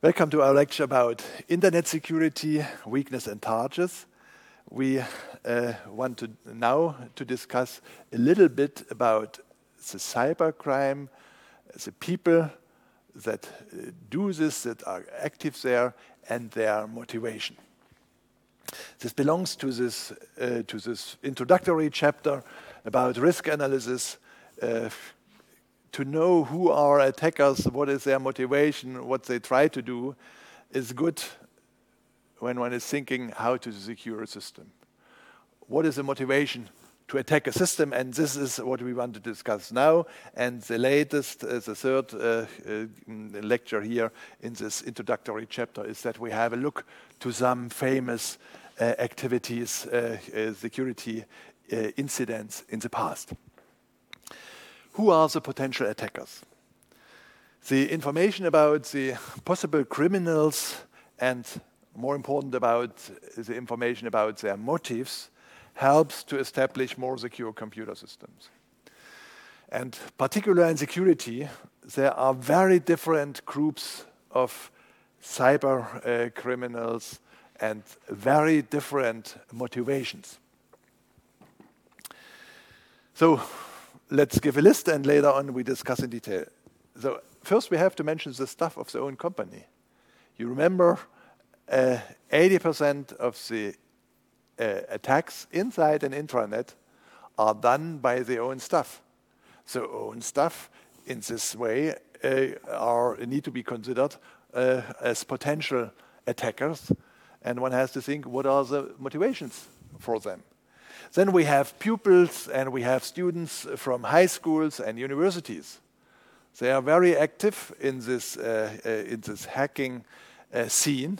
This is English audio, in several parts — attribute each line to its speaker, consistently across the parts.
Speaker 1: Welcome to our lecture about internet security, weakness and charges. We want to now discuss a little bit about the cybercrime, the people that do this, that are active there, and their motivation. This belongs to this introductory chapter about risk analysis. To know who are attackers, what is their motivation, what they try to do, is good when one is thinking how to secure a system. What is the motivation to attack a system? And this is what we want to discuss now. And the latest, the third lecture here in this introductory chapter is that we have a look to some famous activities, security incidents in the past. Who are the potential attackers? The information about the possible criminals and, more important, about the information about their motives helps to establish more secure computer systems. And particularly in security, there are very different groups of cyber criminals and very different motivations. So, let's give a list, and later on we discuss in detail. So first we have to mention the staff of the own company. You remember 80% of the attacks inside an intranet are done by the own staff. So own staff in this way need to be considered as potential attackers, and one has to think what are the motivations for them. Then we have pupils and we have students from high schools and universities. They are very active in this hacking scene.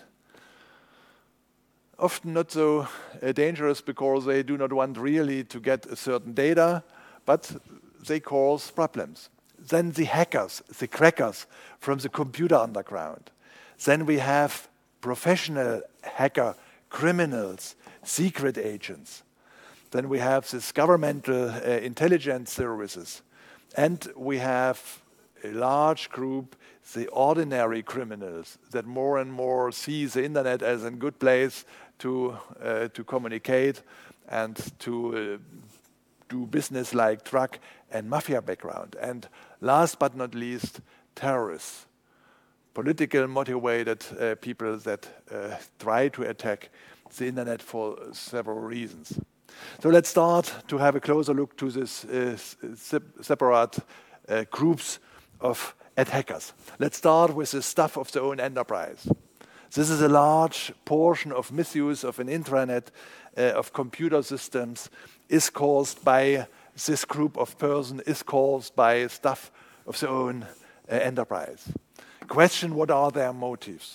Speaker 1: Often not so dangerous because they do not want really to get a certain data, but they cause problems. Then the hackers, the crackers from the computer underground. Then we have professional hacker criminals, secret agents. Then we have this governmental intelligence services. And we have a large group, the ordinary criminals, that more and more see the internet as a good place to communicate and to do business like drug and mafia background. And last but not least, terrorists, political motivated people that try to attack the internet for several reasons. So let's start to have a closer look to this separate groups of attackers. Let's start with the staff of the own enterprise. This is a large portion of misuse of an intranet, of computer systems, is caused by this group of persons, is caused by staff of the own enterprise. Question, what are their motives?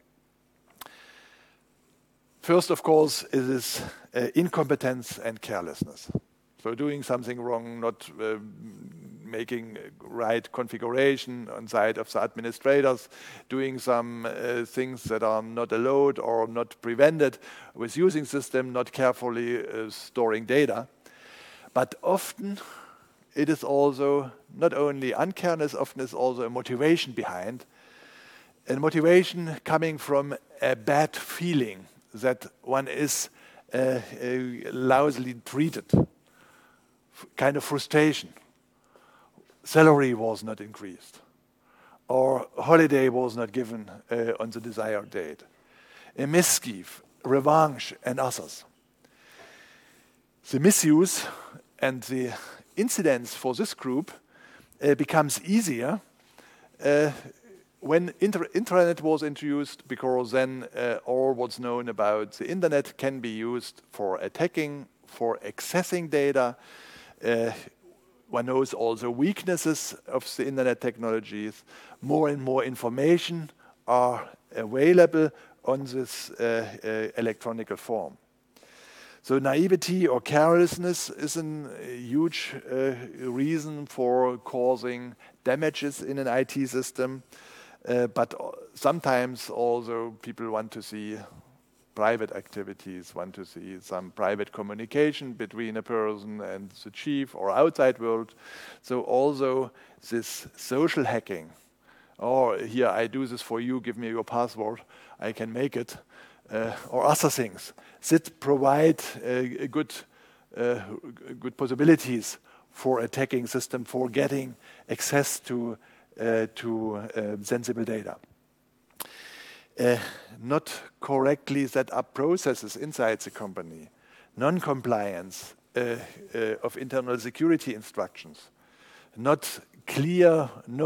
Speaker 1: First, of course, it is incompetence and carelessness. So doing something wrong, not making right configuration on side of the administrators, doing some things that are not allowed or not prevented with using system, not carefully storing data. But often it is also not only uncareness, often it's also a motivation behind. A motivation coming from a bad feeling that one is lousily treated, kind of frustration. Salary was not increased, or holiday was not given on the desired date. A mischief, revenge, and others. The misuse and the incidents for this group becomes easier when intranet was introduced, because then all what's known about the internet can be used for attacking, for accessing data. One knows also weaknesses of the internet technologies. More and more information are available on this electronic form. So naivety or carelessness is a huge reason for causing damages in an IT system. But sometimes also people want to see private activities, want to see some private communication between a person and the chief or outside world. So also this social hacking or here, I do this for you, give me your password, I can make it, or other things that provide good possibilities for attacking system, for getting access to sensible data. Not correctly set up processes inside the company, non-compliance of internal security instructions, not clear,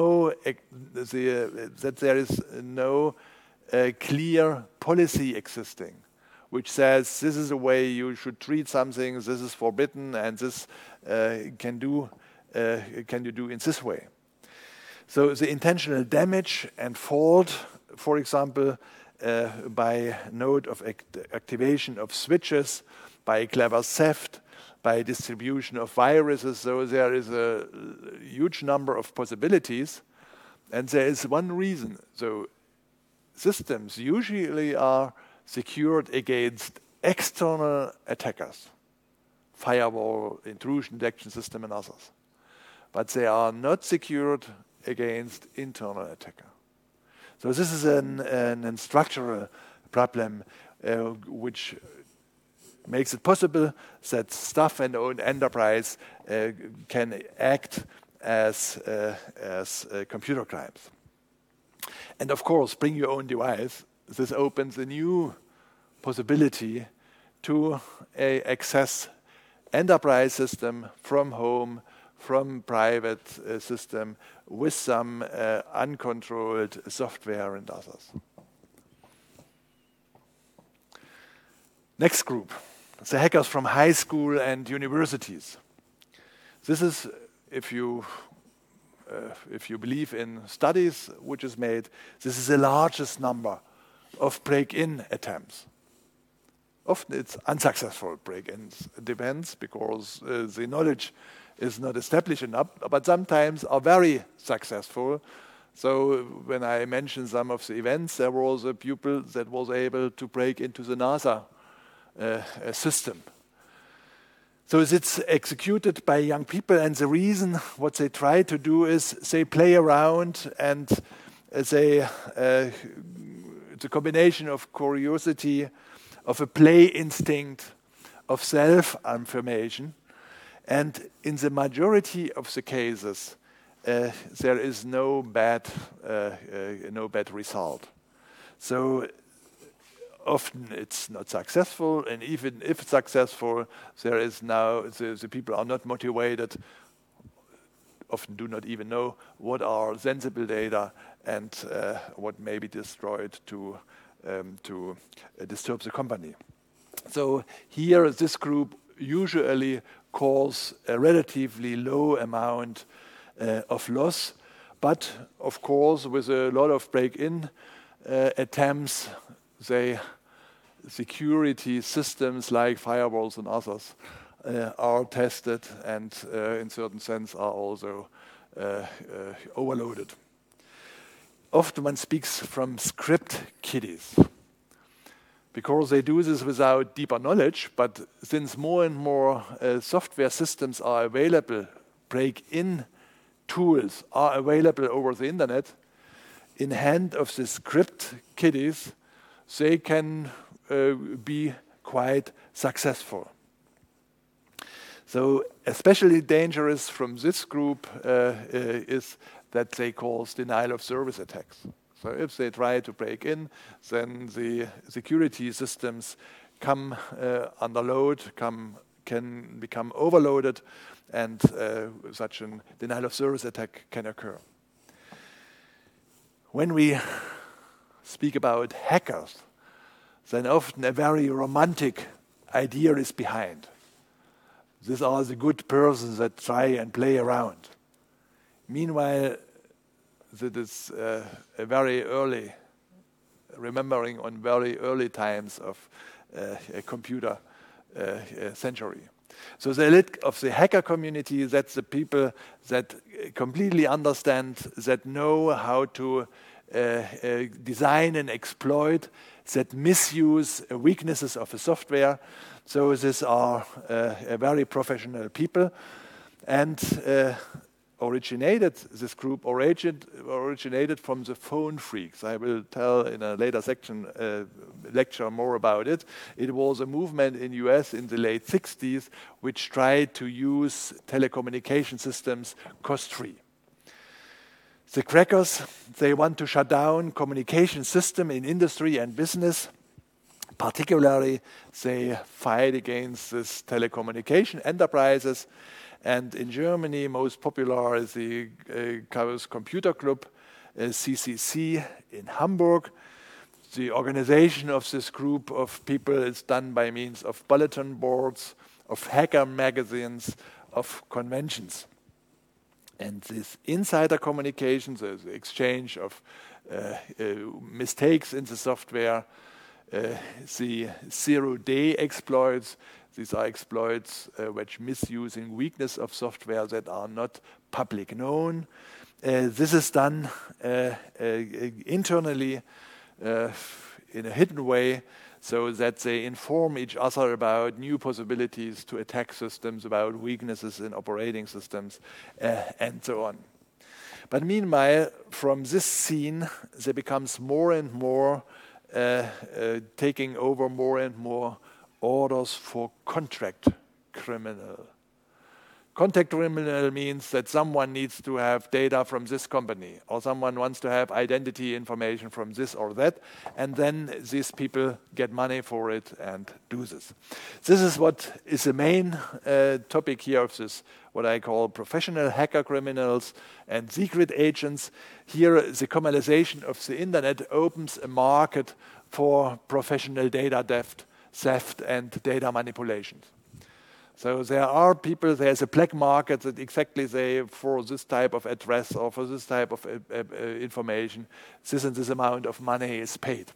Speaker 1: that there is no clear policy existing, which says this is the way you should treat something, this is forbidden, and this can you do in this way. So the intentional damage and fault, for example, by node of activation of switches, by clever theft, by distribution of viruses. So there is a huge number of possibilities, and there is one reason. So systems usually are secured against external attackers, firewall, intrusion detection system, and others. But they are not secured against internal attacker. So this is an structural problem which makes it possible that staff and own enterprise can act as computer crimes. And of course, bring your own device. This opens a new possibility to access enterprise system from home, from private system, with some uncontrolled software and others. Next group, the hackers from high school and universities. This is, if you believe in studies which is made, this is the largest number of break-in attempts. Often it's unsuccessful break-ins. It depends, because the knowledge is not established enough, but sometimes are very successful. So when I mentioned some of the events, there was a pupil that was able to break into the NASA system. So it's executed by young people, and the reason what they try to do is they play around, and it's a combination of curiosity, of a play instinct, of self-affirmation. And in the majority of the cases, there is no bad result. So often it's not successful, and even if successful, there is now the people are not motivated. Often do not even know what are sensible data and what may be destroyed to disturb the company. So here, this group usually cause a relatively low amount of loss, but of course with a lot of break-in attempts, security systems like firewalls and others are tested, and in certain sense are also overloaded. Often one speaks from script kiddies, because they do this without deeper knowledge, but since more and more software systems are available, break-in tools are available over the internet, in hand of the script kiddies, they can be quite successful. So especially dangerous from this group is that they cause denial of service attacks. So if they try to break in, then the security systems come under load, can become overloaded, and such a denial of service attack can occur. When we speak about hackers, then often a very romantic idea is behind. These are the good persons that try and play around. Meanwhile, that is a very early, remembering on very early times of a computer century. So the elite of the hacker community, that's the people that completely understand, that know how to design and exploit, that misuse weaknesses of the software. So these are very professional people, and this group originated from the phone phreaks. I will tell in a later lecture more about it. It was a movement in US in the late 60s which tried to use telecommunication systems cost-free. The crackers, they want to shut down communication system in industry and business. Particularly, they fight against this telecommunication enterprises. And in Germany, most popular is the Chaos Computer Club, CCC, in Hamburg. The organization of this group of people is done by means of bulletin boards, of hacker magazines, of conventions. And this insider communication, the exchange of mistakes in the software, the zero-day exploits, these are exploits which misusing weakness of software that are not public known. This is done internally in a hidden way so that they inform each other about new possibilities to attack systems, about weaknesses in operating systems, and so on. But meanwhile, from this scene, there becomes more and more taking over more and more orders for contract criminal. Contract criminal means that someone needs to have data from this company, or someone wants to have identity information from this or that, and then these people get money for it and do this. This is what is the main topic here of this, what I call professional hacker criminals and secret agents. Here, the commercialization of the internet opens a market for professional data theft and data manipulations. So there are people, there's a black market that exactly say for this type of address or for this type of information, this and this amount of money is paid.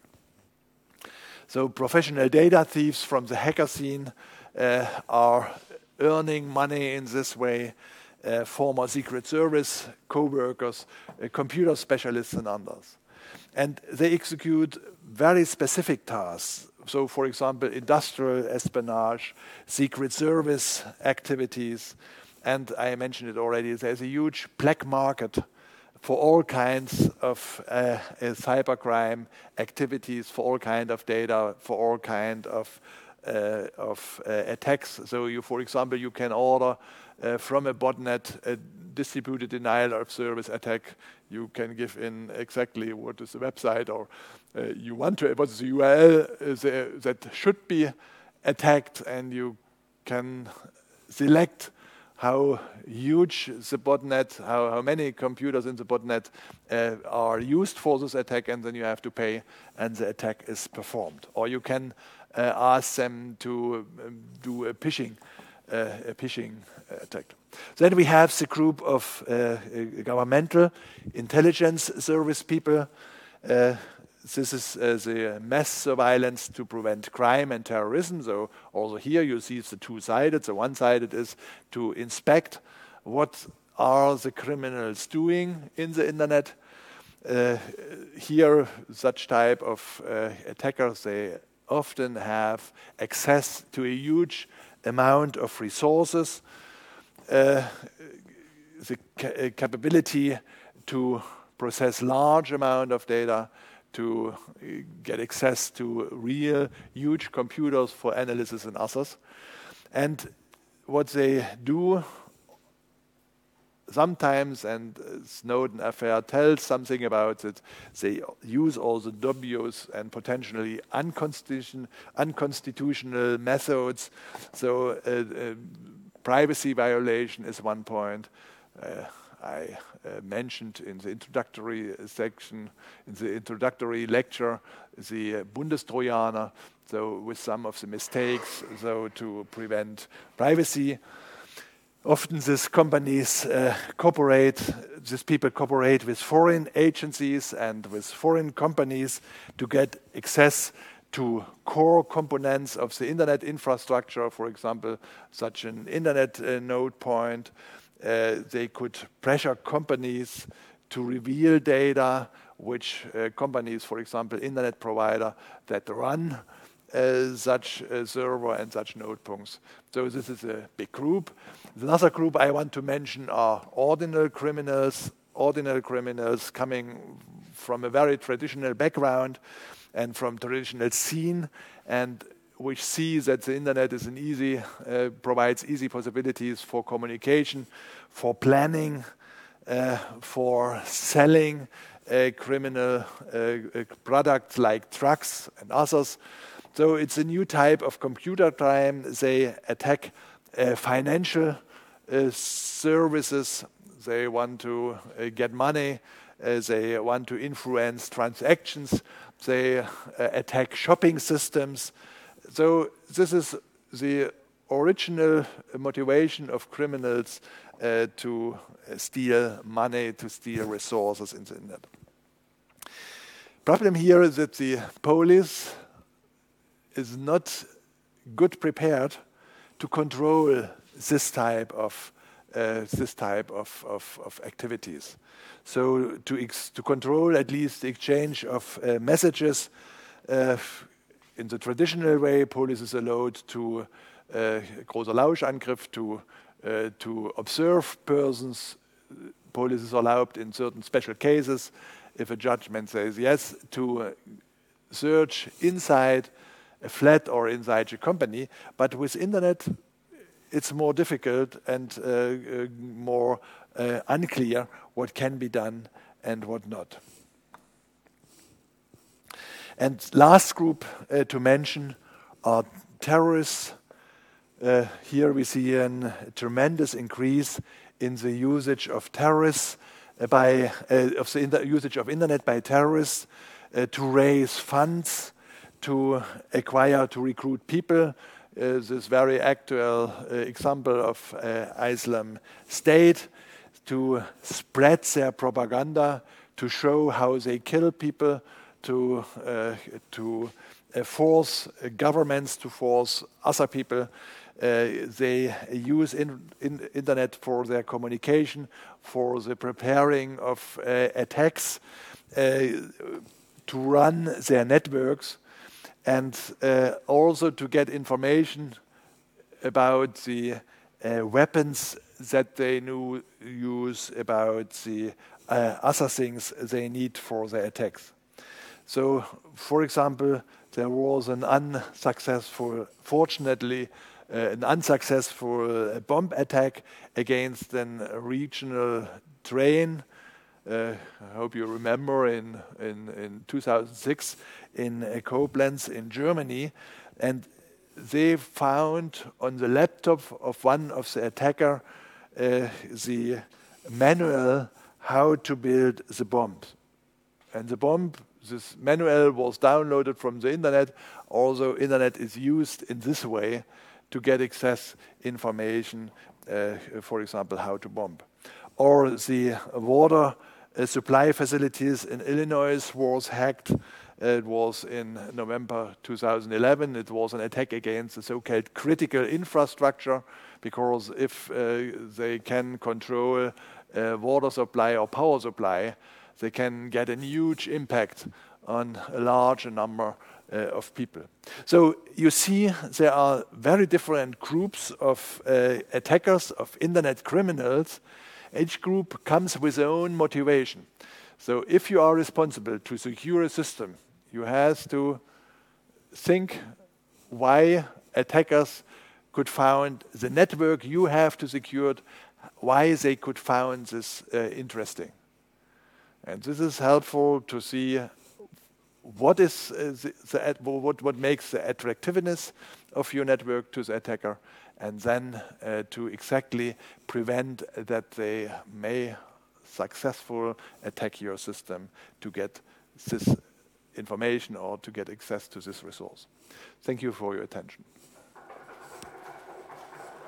Speaker 1: So professional data thieves from the hacker scene are earning money in this way, former Secret Service co-workers, computer specialists and others. And they execute very specific tasks. So, for example, industrial espionage, Secret Service activities, and I mentioned it already, there's a huge black market for all kinds of cybercrime activities, for all kinds of data, for all kinds of attacks. So, for example, you can order from a botnet a distributed denial of service attack. You can give in exactly what is the website or you want to, what's the URL that should be attacked, and you can select how huge the botnet, how many computers in the botnet are used for this attack, and then you have to pay, and the attack is performed. Or you can ask them to do a phishing attack. Then we have the group of governmental intelligence service people. This is the mass surveillance to prevent crime and terrorism. So also here you see the two-sided. The one-sided is to inspect what are the criminals doing in the internet. Here, such type of attackers, they often have access to a huge amount of resources, the capability to process large amount of data, to get access to real huge computers for analysis and others. And what they do sometimes, and Snowden affair tells something about it, they use all the dubious and potentially unconstitutional methods. So privacy violation is one point. I mentioned in the introductory section, in the introductory lecture, the Bundestrojaner, so with some of the mistakes, so to prevent privacy. Often these companies these people cooperate with foreign agencies and with foreign companies to get access to core components of the internet infrastructure, for example, such an internet node point. They could pressure companies to reveal data, which companies, for example, internet provider that run such a server and such notebooks. So this is a big group. Another group I want to mention are ordinal criminals coming from a very traditional background and from traditional scene, and which see that the internet is provides easy possibilities for communication, for planning, for selling criminal products like drugs and others. So it's a new type of computer crime. They attack financial services. They want to get money. They want to influence transactions. They attack shopping systems. So this is the original motivation of criminals to steal money, to steal resources in the internet. Problem here is that the police is not good prepared to control this type of activities. So to control at least the exchange of messages in the traditional way, police is allowed to großer Lauschangriff to observe persons. Police is allowed in certain special cases, if a judgment says yes, to search inside a flat or inside a company. But with internet, it's more difficult and more unclear what can be done and what not. And last group to mention are terrorists. Here we see a tremendous increase in the usage of terrorists usage of internet by terrorists to raise funds, to acquire, to recruit people. This very actual example of Islam State, to spread their propaganda, to show how they kill people, to force governments to force other people. They use internet for their communication, for the preparing of attacks, to run their networks, and also to get information about the weapons that they use, about the other things they need for their attacks. So, for example, there was an unsuccessful bomb attack against a regional train. I hope you remember in 2006 in Koblenz in Germany, and they found on the laptop of one of the attacker the manual how to build the bomb. And this manual was downloaded from the internet. Also, internet is used in this way to get access information, for example, how to bomb. Or the water supply facilities in Illinois was hacked. It was in November 2011. It was an attack against the so-called critical infrastructure, because if they can control water supply or power supply, they can get a huge impact on a large number of people. So you see there are very different groups of attackers, of internet criminals. Each group comes with their own motivation. So if you are responsible to secure a system, you have to think why attackers could found the network you have to secure, why they could found this interesting. And this is helpful to see what is what makes the attractiveness of your network to the attacker, and then to exactly prevent that they may successfully attack your system to get this information or to get access to this resource. Thank you for your attention.